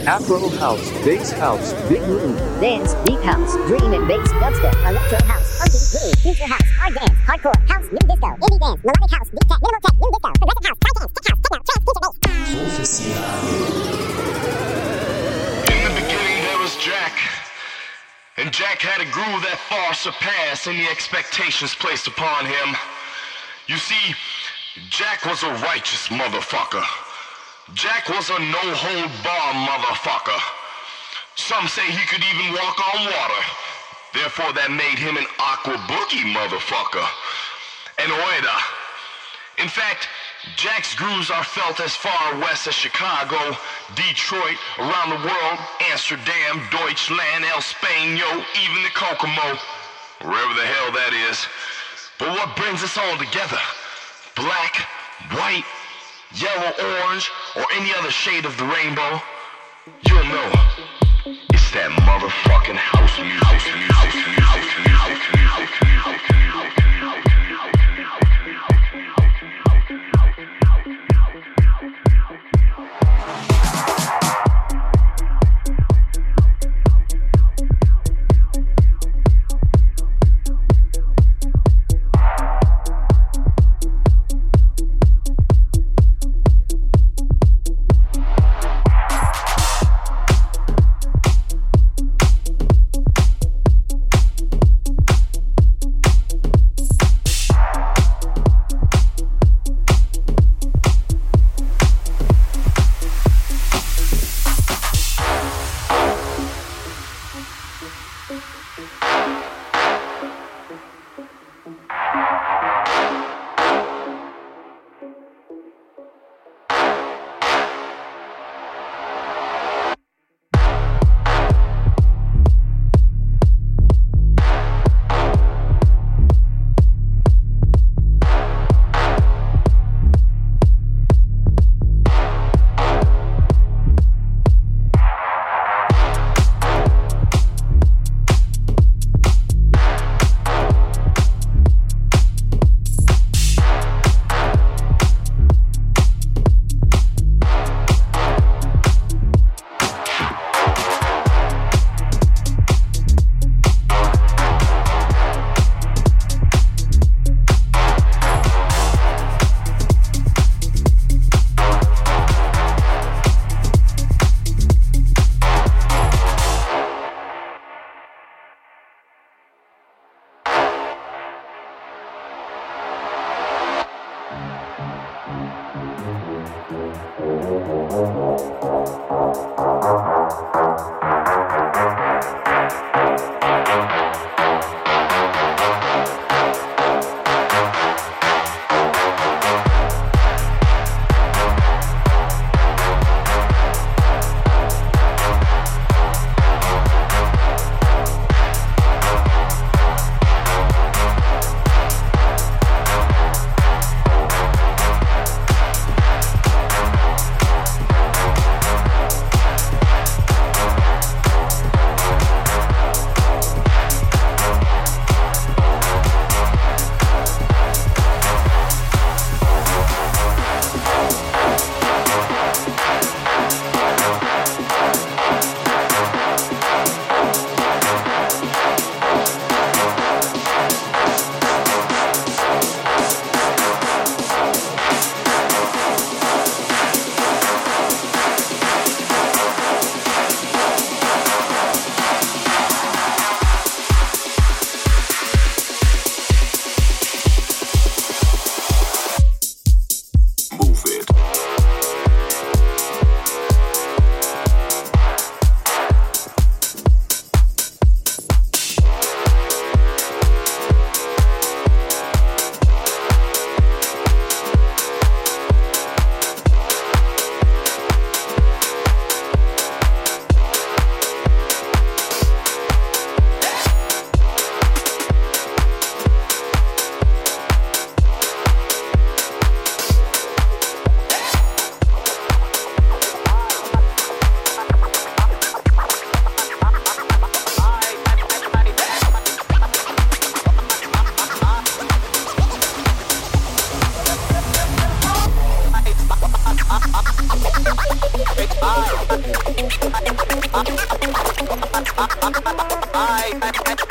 Afro house, bass house, big room, dance, deep house, dream and bass, dubstep, electro house, funky, groove, future house, hard dance, hardcore, house, new disco, indie dance, melodic house, deep tech, minimal tech, new disco, progressive house, high dance, tech house, techno, trance, future bass. In the beginning there was Jack, and Jack had a groove that far surpassed any expectations placed upon him. You see, Jack was a righteous motherfucker. Jack was a no-hold-bar motherfucker. Some say he could even walk on water. Therefore, that made him an aqua boogie motherfucker. An oida. In fact, Jack's grooves are felt as far west as Chicago, Detroit, around the world, Amsterdam, Deutschland, El Spaño, even the Kokomo, wherever the hell that is. But what brings us all together? Black, white, yellow, orange, or any other shade of the rainbow? You'll know. It's that motherfucking house music.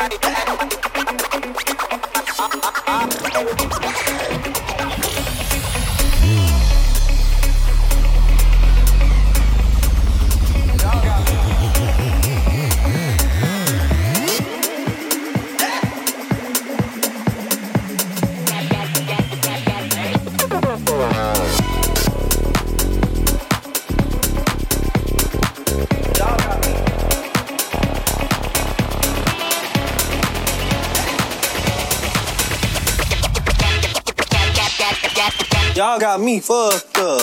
Y'all got me fucked up.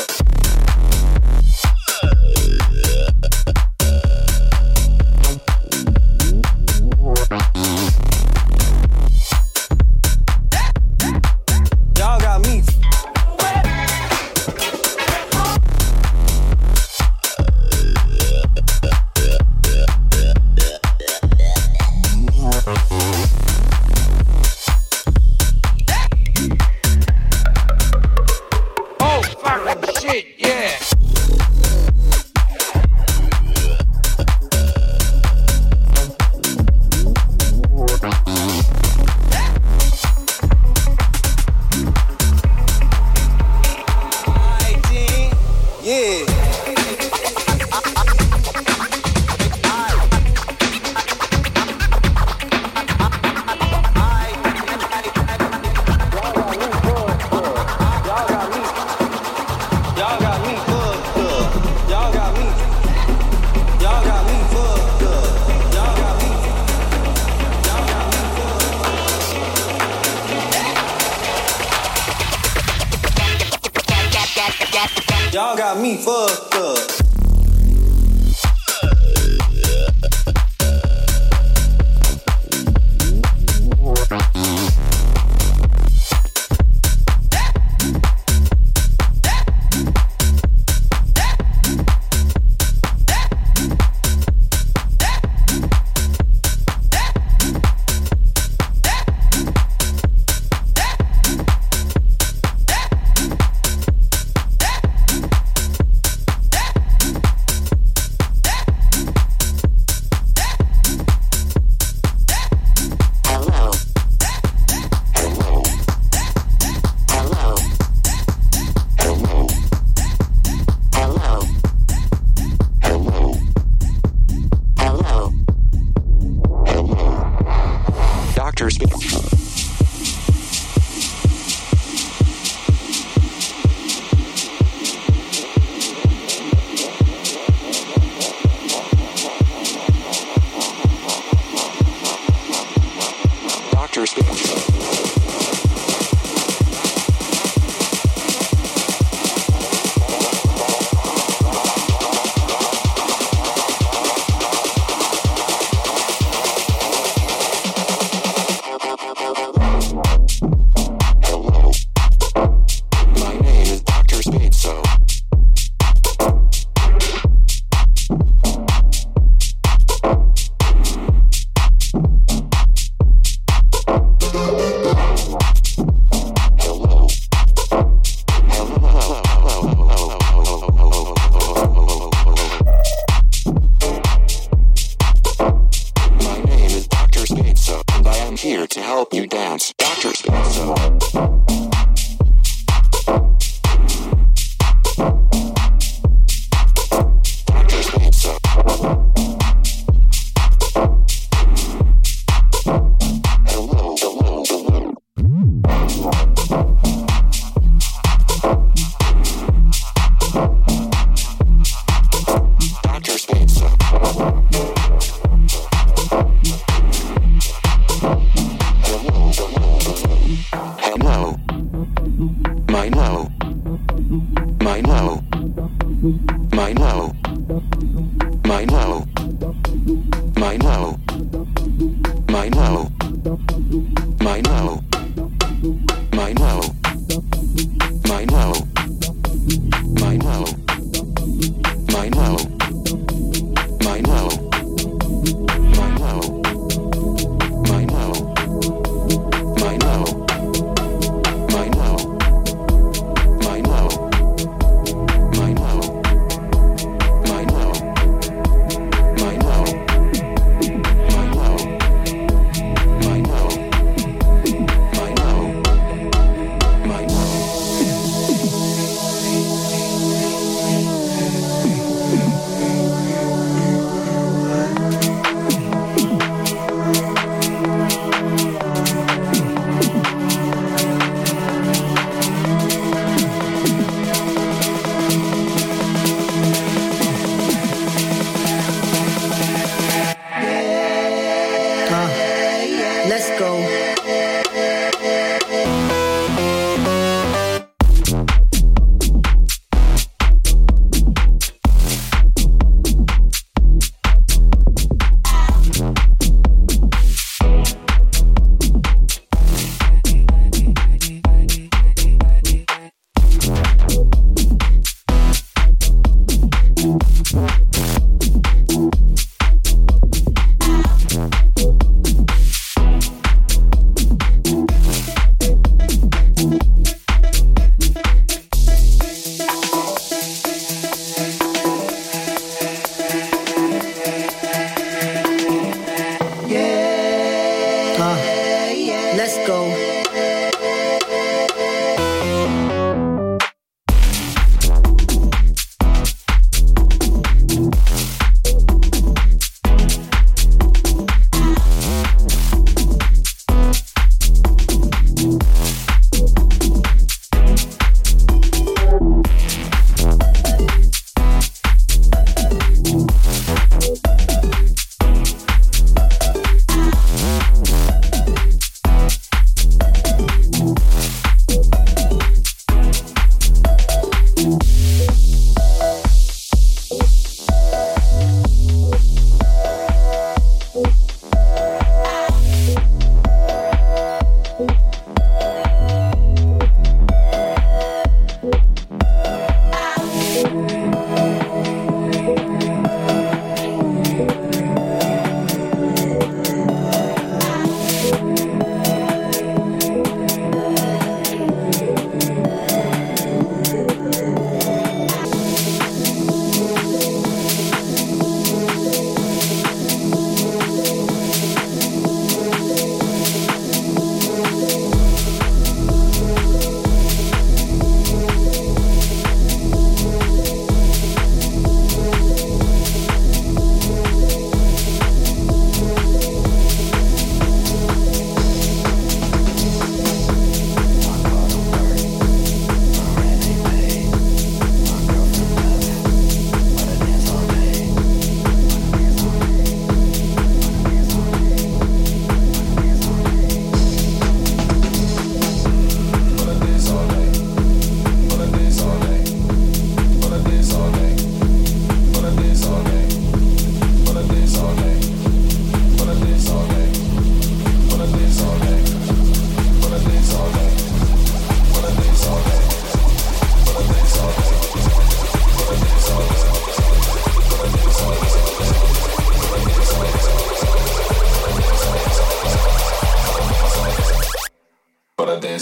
Y'all got me. Y'all got me fucked up.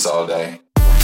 dance all day.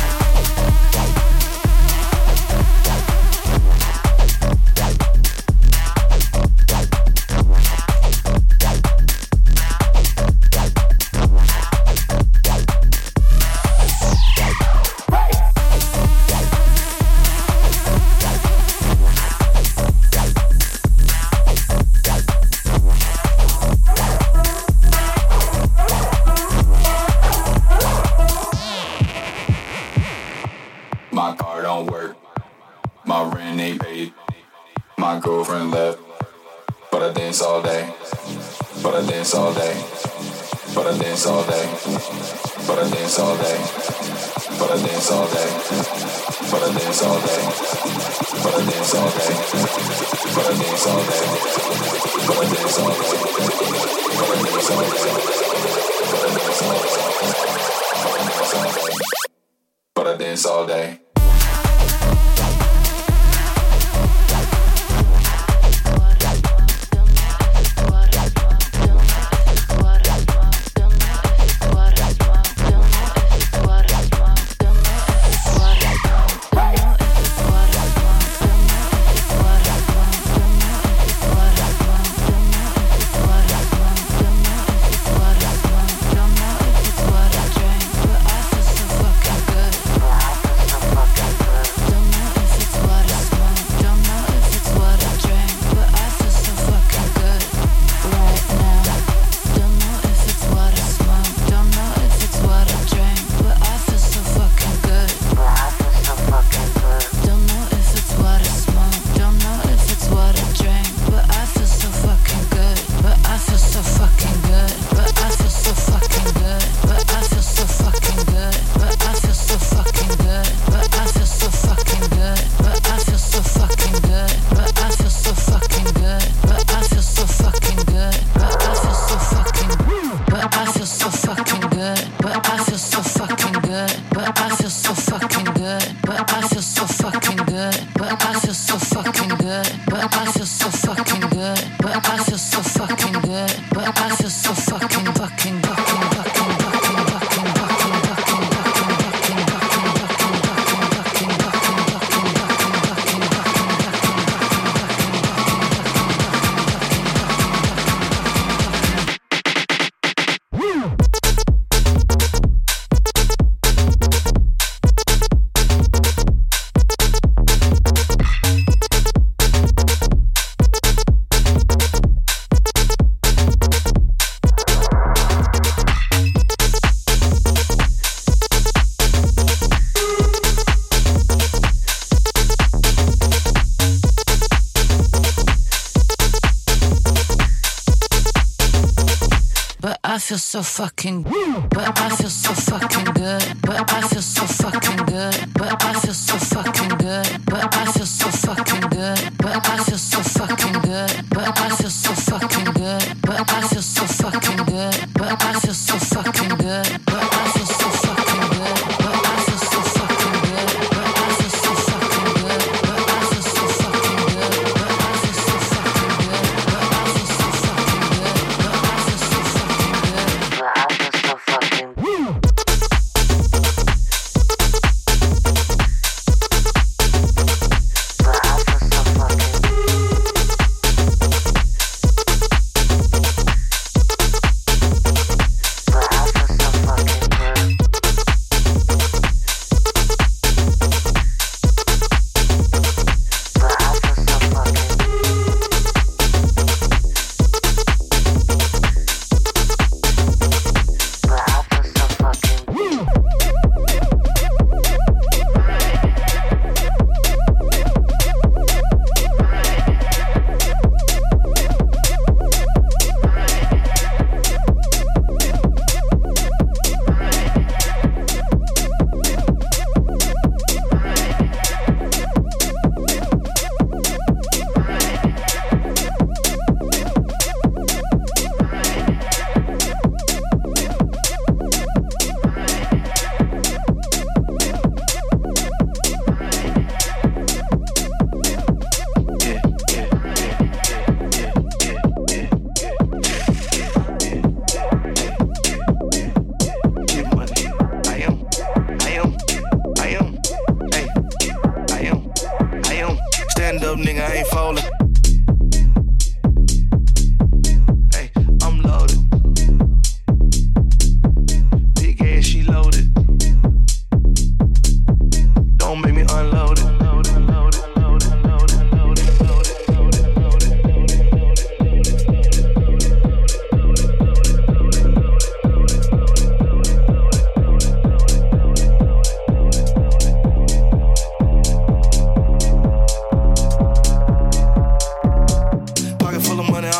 My car don't work, my rent ain't paid, my girlfriend left, but I dance all day, but I dance all day, but I dance all day, but I dance all day, but I dance all day, but I dance all day, but I dance all day, but I dance all day, but I dance all day, but I dance all day, but I dance all day, but I dance all day. I feel so fucking, but I feel so fucking good, but I feel so fucking good, but I feel so fucking good, but I feel so fucking good, but I feel so fucking good, but I feel so fucking good, but I feel so fucking good, but I feel so fucking good, but I feel so fucking good, but I feel so fucking good, but I feel so fucking good, but I feel so fucking good, but I feel so fucking good, but I feel so fucking good, but I feel so fucking good, but I feel so fucking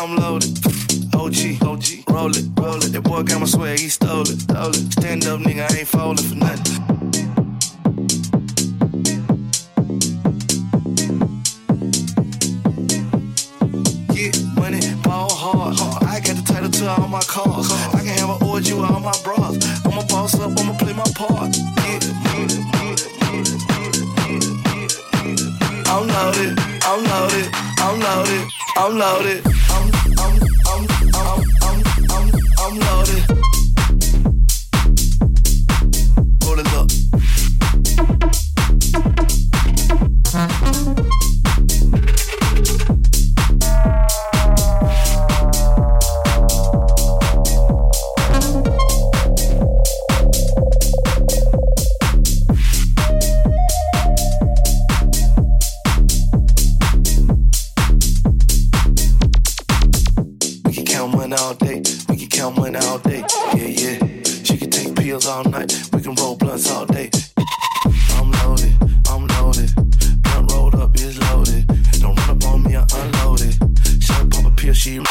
I'm loaded. OG, roll it. That boy got my swag, he stole it. Stand up, nigga, I ain't falling for nothing. Get money, ball hard. I got the title to all my cars. I can have an orgy with all my bras. I'ma boss up, I'ma play my part. I'm loaded. I'm loaded. I'm loaded. Roll it up. All day, yeah. She can take pills all night. We can roll blunts all day. I'm loaded. Blunt rolled up is loaded. Don't run up on me, I unloaded. She'll pop a pill, she.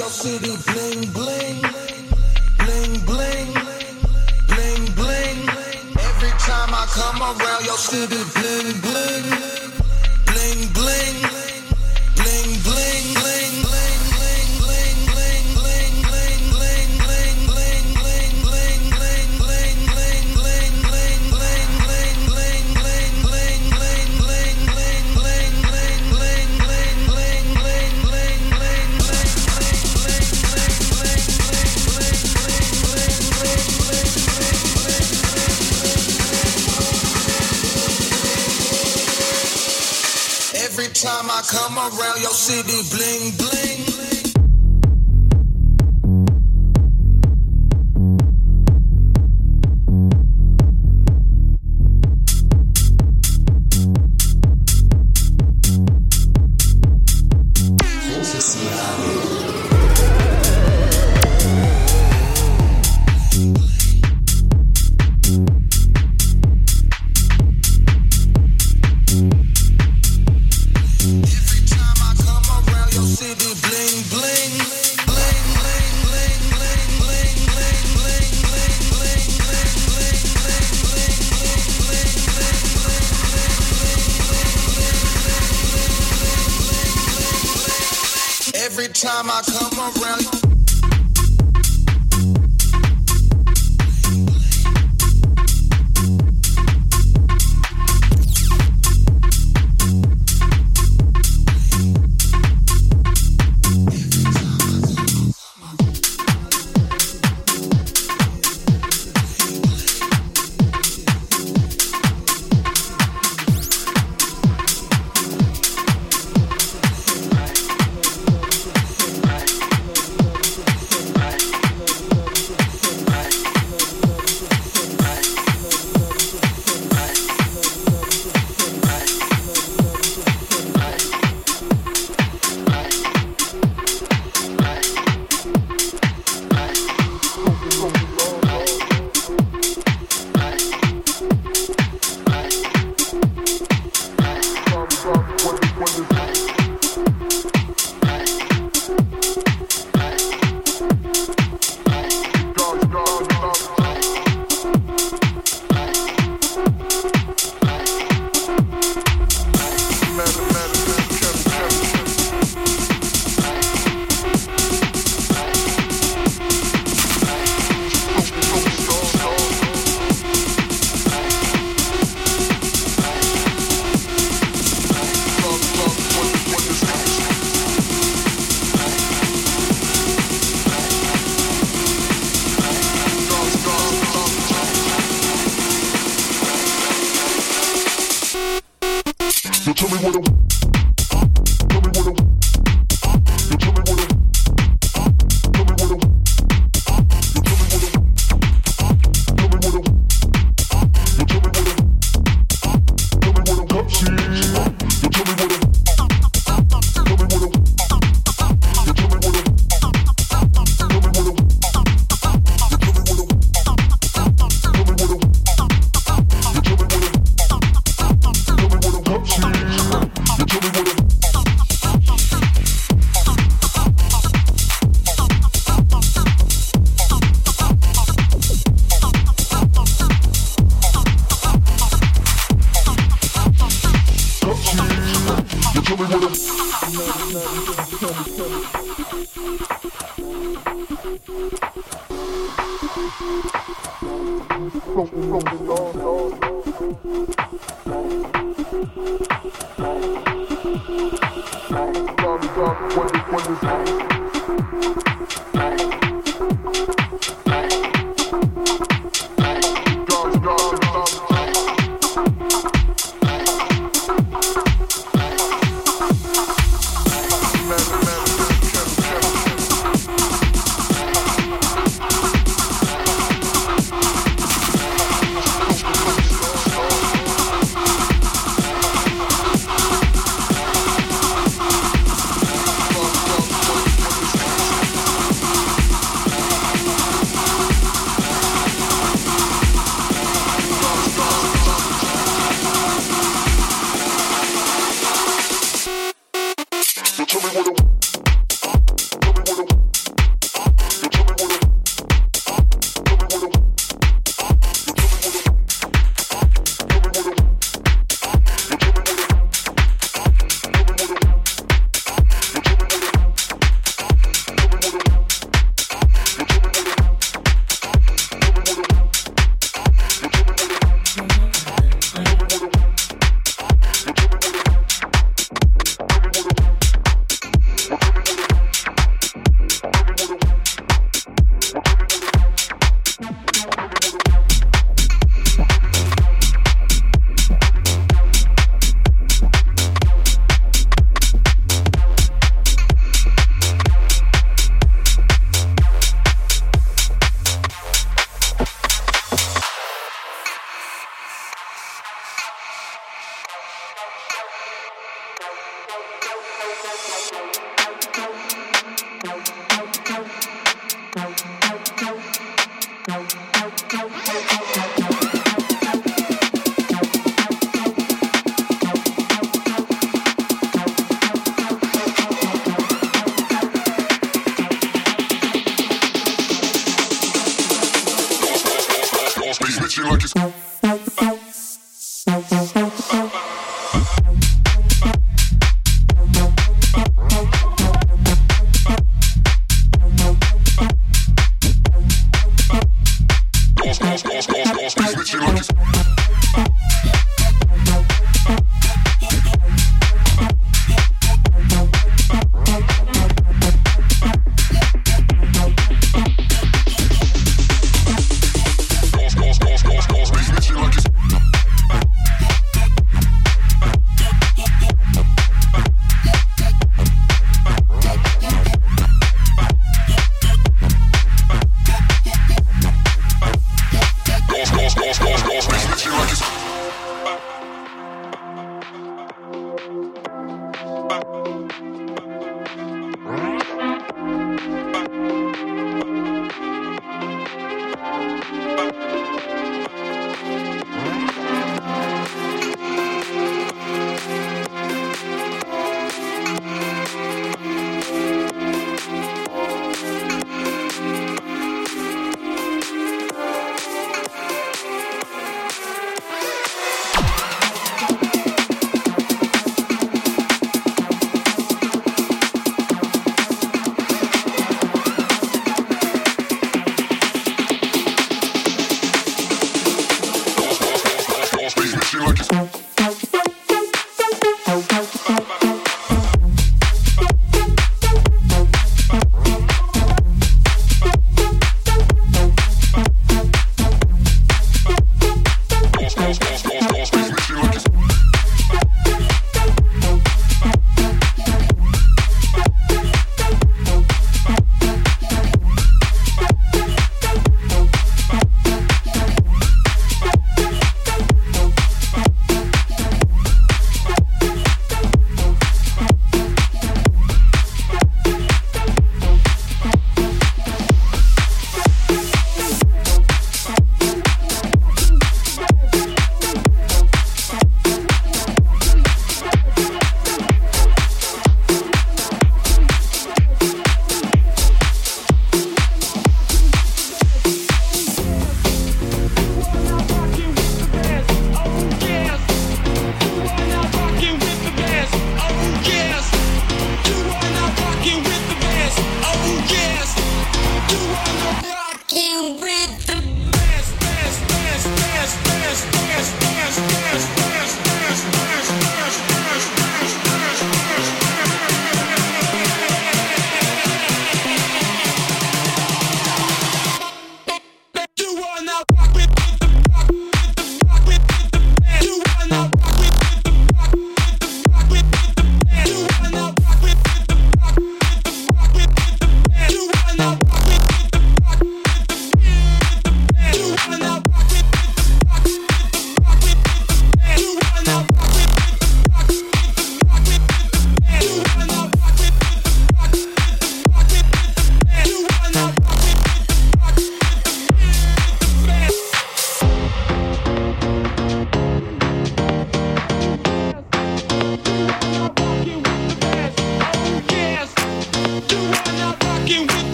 your city, bling bling, bling bling, bling bling. Every time I come around your city, bling bling, bling bling, bling bling, bling bling, bling bling, bling bling, bling bling, bling bling, bling bling, bling bling, bling bling, bling bling, bling bling, bling bling, bling bling, bling bling, bling bling, bling bling, bling bling, bling every time I come around your city, bling bling. Every time I come around. Tell me what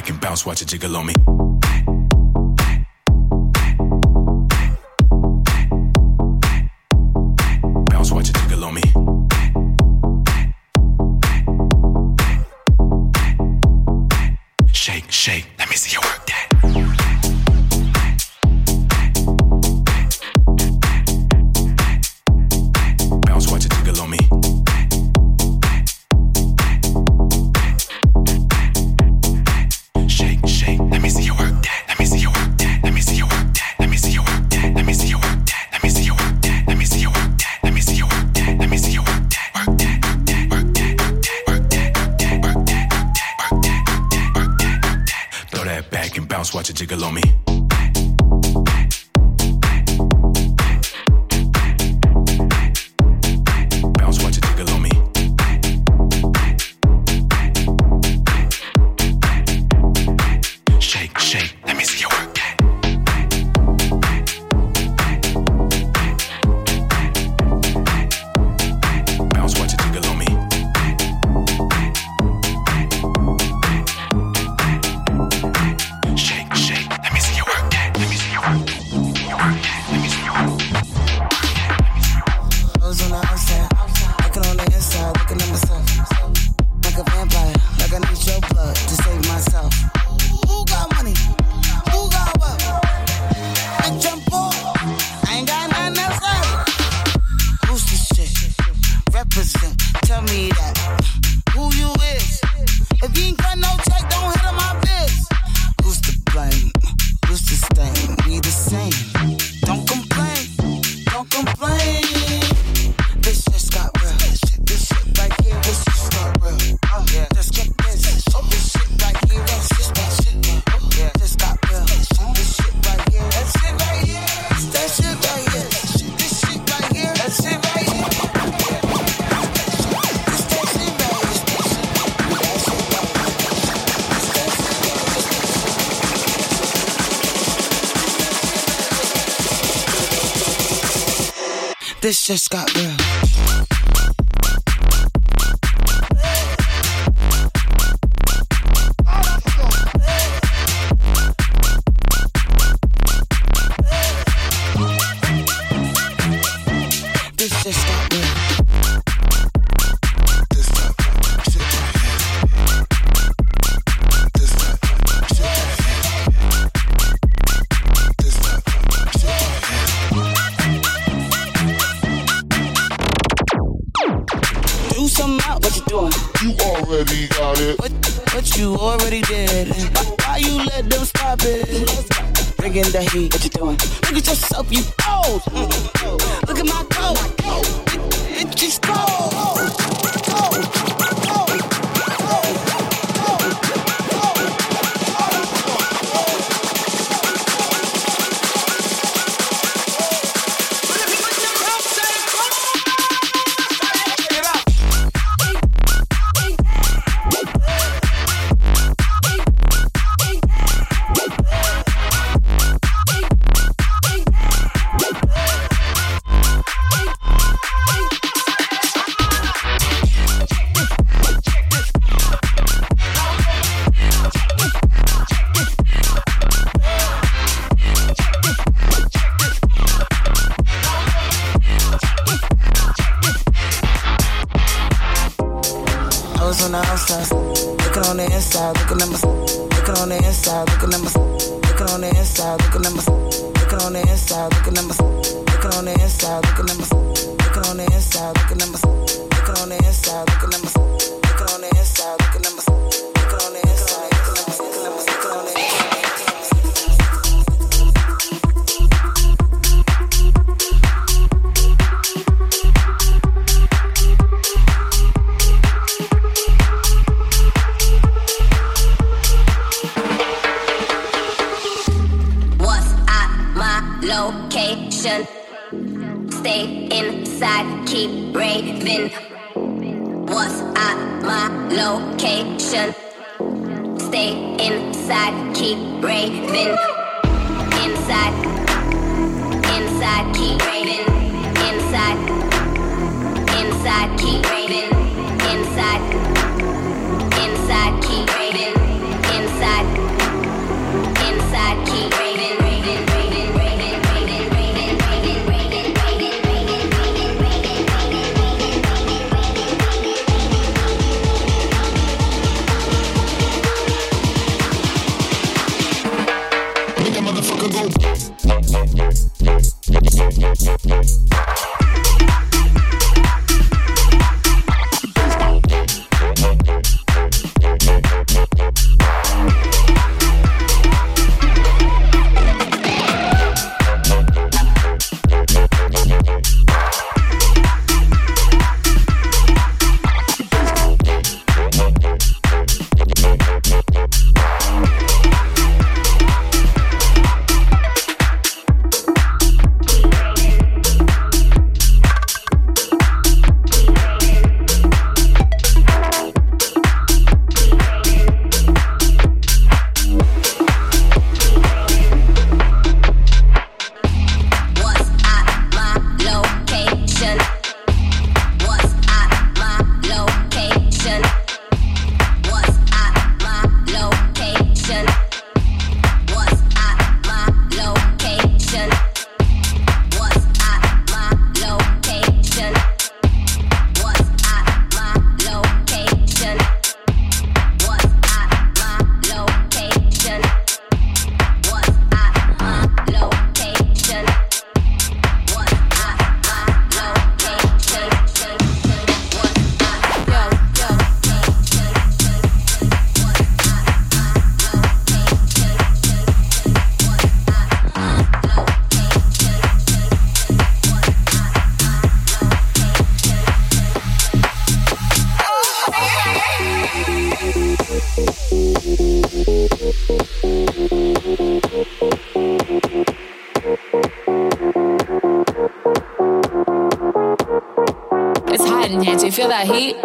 back and bounce, watch it jiggle on me. Bounce, watch it jiggle on me. Shake, shake, let me see you work that. Bounce, watch it jiggle on me. Shake, shake, let me see you work that. Let me see you work that. Let me see you work that. Let me see you work that. Let me see you work that. Let me see you work that. Let me see you work that. Let me see you work that. Let me see you work that. Work that. Work that. Work that. Work that. Work that. Work that. Throw that back and bounce, watch it jiggle on me. Bounce, watch it jiggle on me. Shake, shake, let me see you work that. Bounce, watch it jiggle on me. Shake, shake, let me see you work that. Let me see you work that. You work that. Let me see you work that. I was on the outside, looking on the inside, looking at myself. Like a vampire, like I need your blood to save myself. Who got money? Who got what? Bitch, I'm poor. I ain't got nothing else left. Who's this shit? Represent, tell me that. Who you is? If you ain't got no check, don't hit on my biz. Who's to blame? Who's to stain? We the same. Don't complain. Don't complain. This shit got real. This shit right here. This shit got real. Yeah. Just get this. This shit right here. This shit. Yeah. This got real. This shit right here. That shit right here. That shit right here. This shit right here. That shit right here. This that shit right here. This just got real. This just got real. This that shit right here. This that shit right here. This that shit right here. Do something out, what you doing? You already got it. What you already did. Why you let them stop it? Bringing the heat, what you doing? Look at yourself, you old. Look at my coat. It just cold. On the outside, looking on the inside, looking at myself, looking on the inside, looking at myself, looking on the inside, looking at myself, looking on the inside, looking at myself, looking on the inside, looking at myself, looking on the inside, looking at myself, looking on the inside, looking at myself, looking on the inside, looking at myself, looking on the inside, looking at myself, looking on the inside. Location. Stay inside, keep raving. What's at my location? Stay inside, keep raving. Inside, inside, keep raving. Inside, inside, keep raving. Inside, inside, keep raving. Inside. It's hot in here. Do you feel that heat?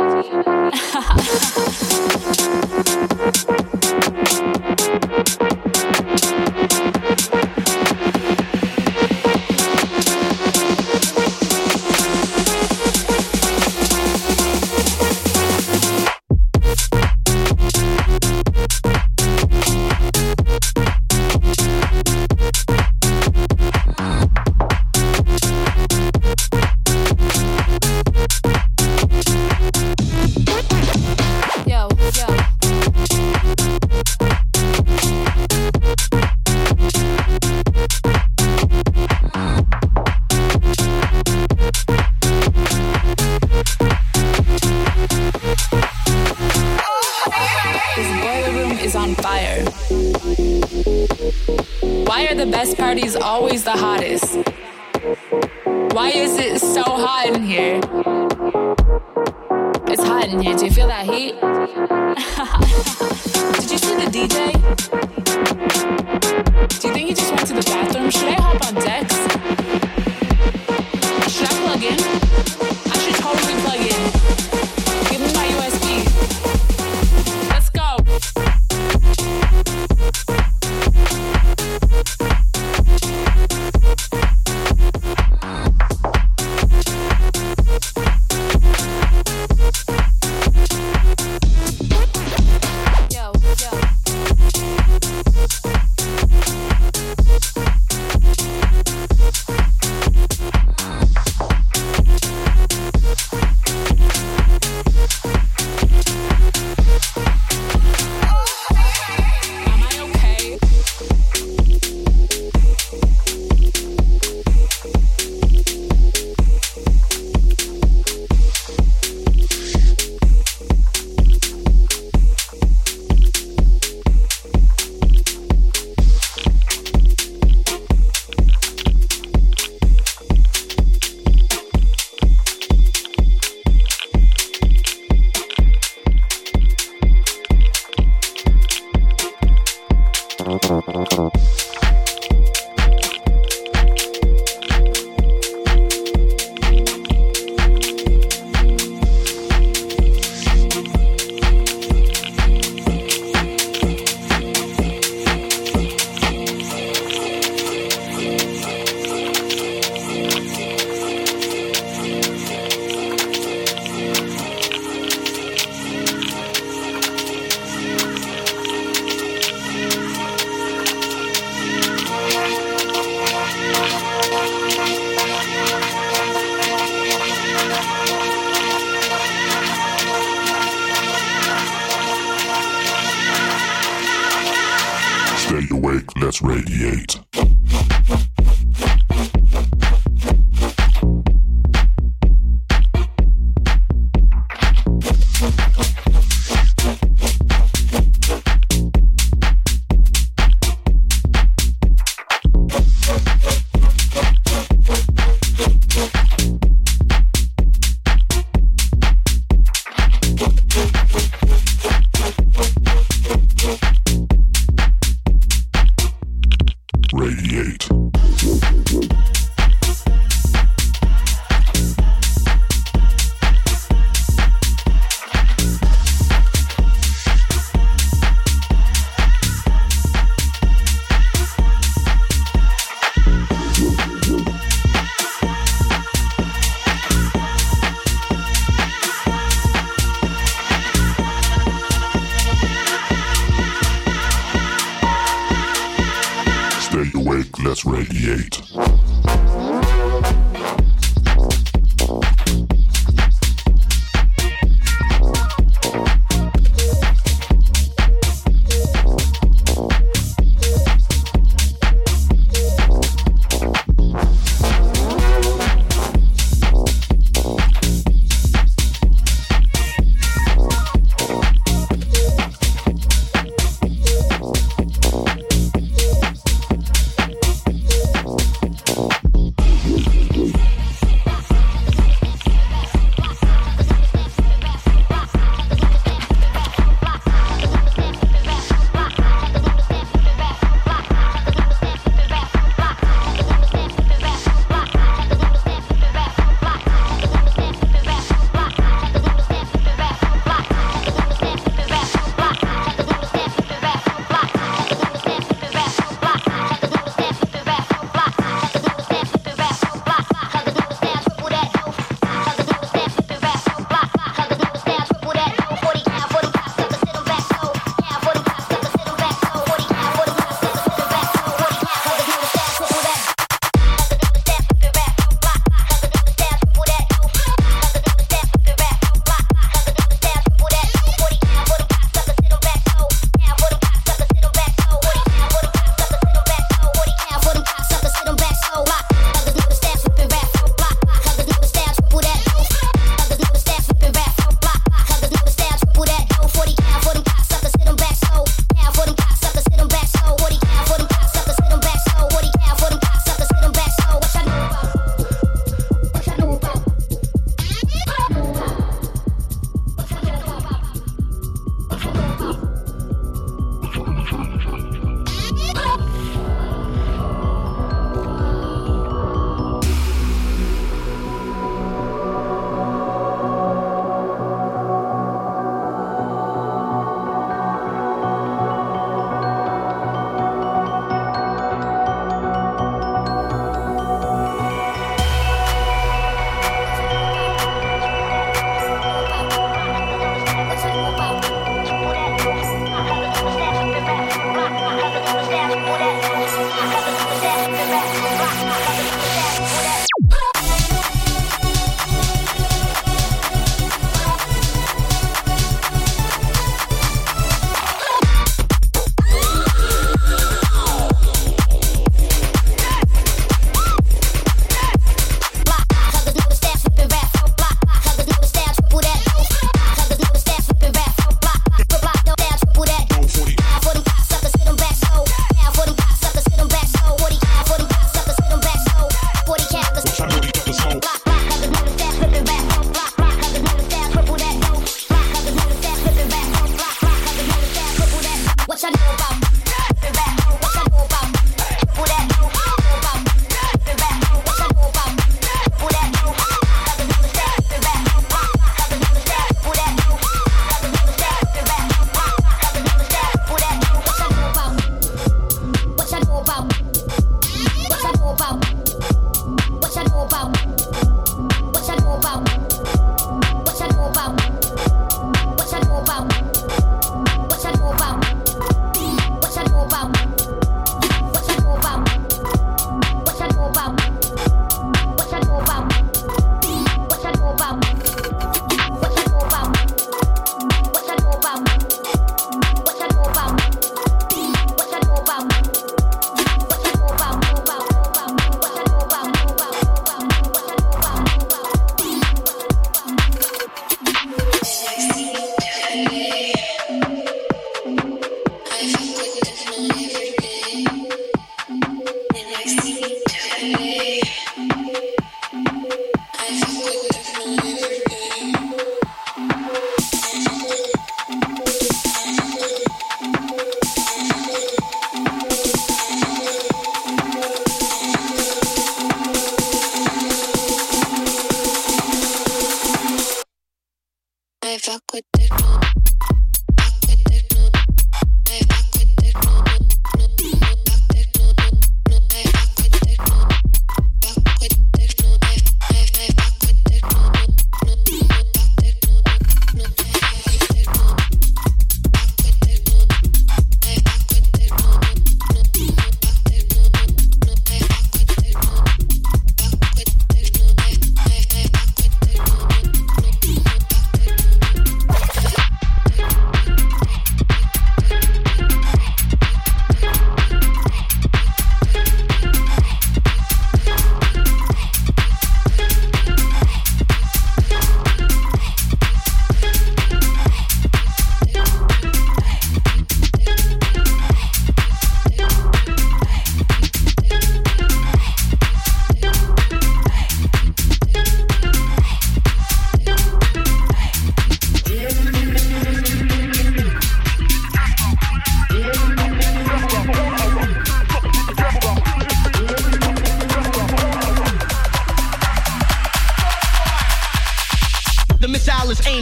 Party's always the hottest. Why is it so hot in here? It's hot in here. Do you feel that heat? Did you see the DJ? Do you think he just went to the bathroom? Should I hop on decks? Should I plug in? I should totally plug in. Give me my USB. Let's go. Stay awake, let's radiate. Radiate. Stay awake, let's radiate.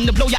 to blow